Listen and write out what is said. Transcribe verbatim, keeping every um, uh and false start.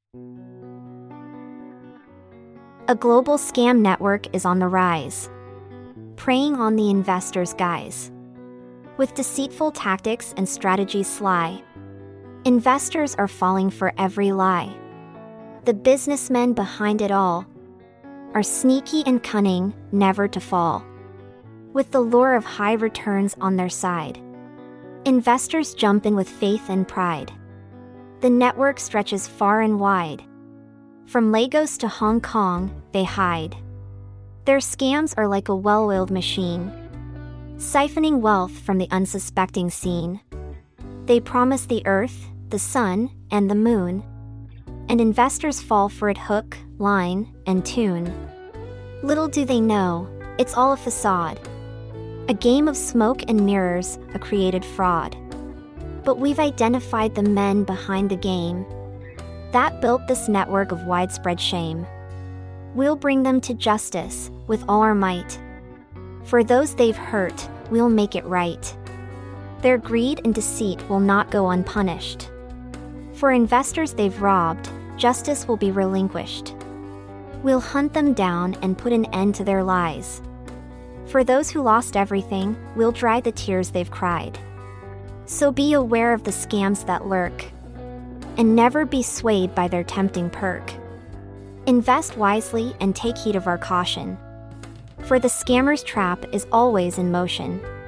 A global scam network is on the rise, preying on the investor's guise. With deceitful tactics and strategies sly, investors are falling for every lie. The businessmen behind it all are sneaky and cunning, never to fall. With the lure of high returns on their side, investors jump in with faith and pride. The network stretches far and wide. From Lagos to Hong Kong, they hide. Their scams are like a well-oiled machine, siphoning wealth from the unsuspecting scene. They promise the earth, the sun, and the moon, and investors fall for it hook, line, and tune. Little do they know, it's all a facade, a game of smoke and mirrors, a created fraud. But we've identified the men behind the game that built this network of widespread shame. We'll bring them to justice with all our might. For those they've hurt, we'll make it right. Their greed and deceit will not go unpunished. For investors they've robbed, justice will be relinquished. We'll hunt them down and put an end to their lies. For those who lost everything, we'll dry the tears they've cried. So be aware of the scams that lurk, and never be swayed by their tempting perk. Invest wisely and take heed of our caution, for the scammer's trap is always in motion.